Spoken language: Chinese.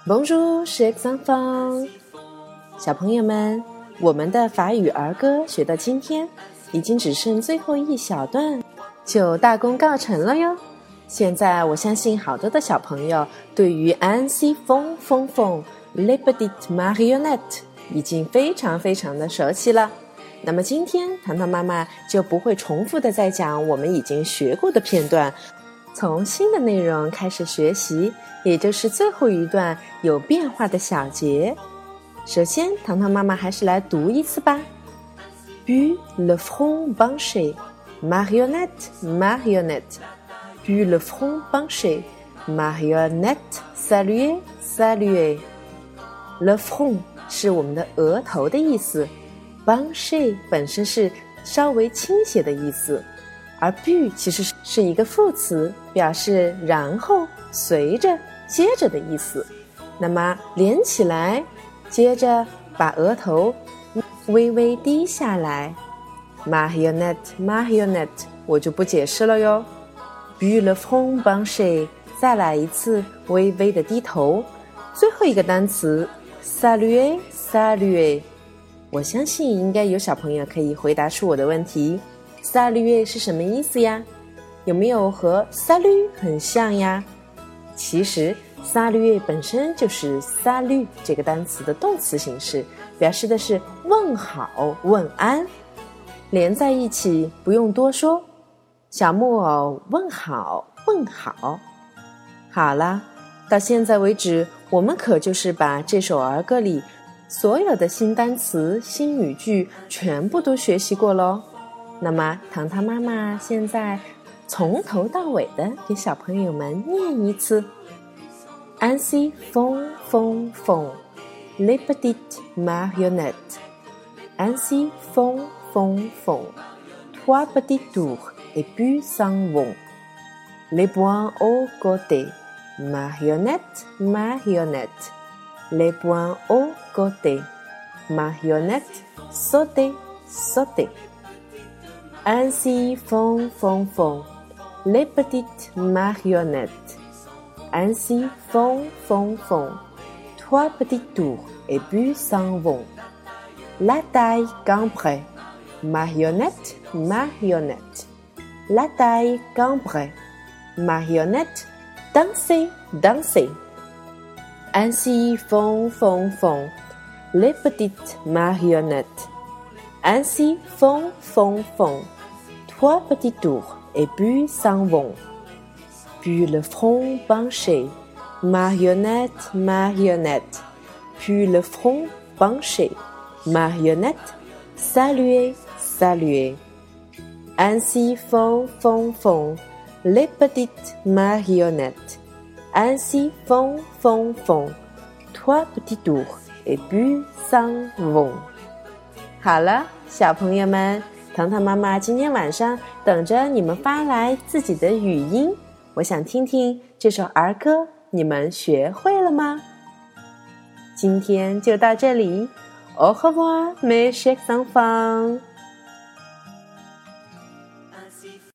Bonjour, chers enfants。小朋友们，我们的法语儿歌学到今天，已经只剩最后一小段，就大功告成了哟。现在我相信好多的小朋友对于 Ainsi font font font les petites marionnettes 已经非常的熟悉了。那么今天糖糖妈妈就不会重复的再讲我们已经学过的片段，从新的内容开始学习，也就是最后一段有变化的小节。首先糖糖妈妈还是来读一次吧。 Puis le front penché, marionnette, marionnette. Puis le front penché, marionnette, saluez, saluez. Le front 是我们的额头的意思， penché 本身是稍微倾斜的意思，而 puis 其实是一个副词，表示然后、随着、接着的意思。那么连起来，接着把额头微微低下来。 Marionnette, marionnette 我就不解释了哟。 Puis le front penché 再来一次微微的低头。最后一个单词 saluer, saluer 我相信应该有小朋友可以回答出我的问题。 saluer 是什么意思呀？有没有和 salut 很像呀？其实 saluer 本身就是 salut 这个单词的动词形式，表示的是问好、问安，连在一起不用多说。小木偶问好，问好。好了，到现在为止，我们可就是把这首儿歌里所有的新单词、新语句全部都学习过咯。那么糖糖妈妈现在从头到尾的给小朋友们念一次。 Ainsi font font font les petites marionnettes. Ainsi font font font trois petits tours et puis s'en vont. Les poings au côté, marionnette, marionnette. Les poings au côté, marionnette, sautez, sautez. Ainsi font font font les petites marionnettes. Ainsi font font font trois petits tours et puis s'en vont. La taille cambrée, marionnette, marionnette. La taille cambrée, marionnette, dansez, dansez. Ainsi font font font les petites marionnettes. Ainsi font font font trois petits tours et puis s'en vont. Puis le front penché, marionnette, marionnette. Puis le front penché, marionnette, saluez, saluez. Ainsi font font font les petites marionnettes. Ainsi font font font trois petits tours et puis s'en vont. 好了，小朋友们，糖糖妈妈今天晚上等着你们发来自己的语音，我想听听这首儿歌你们学会了吗？今天就到这里，Au revoir mes chers enfants。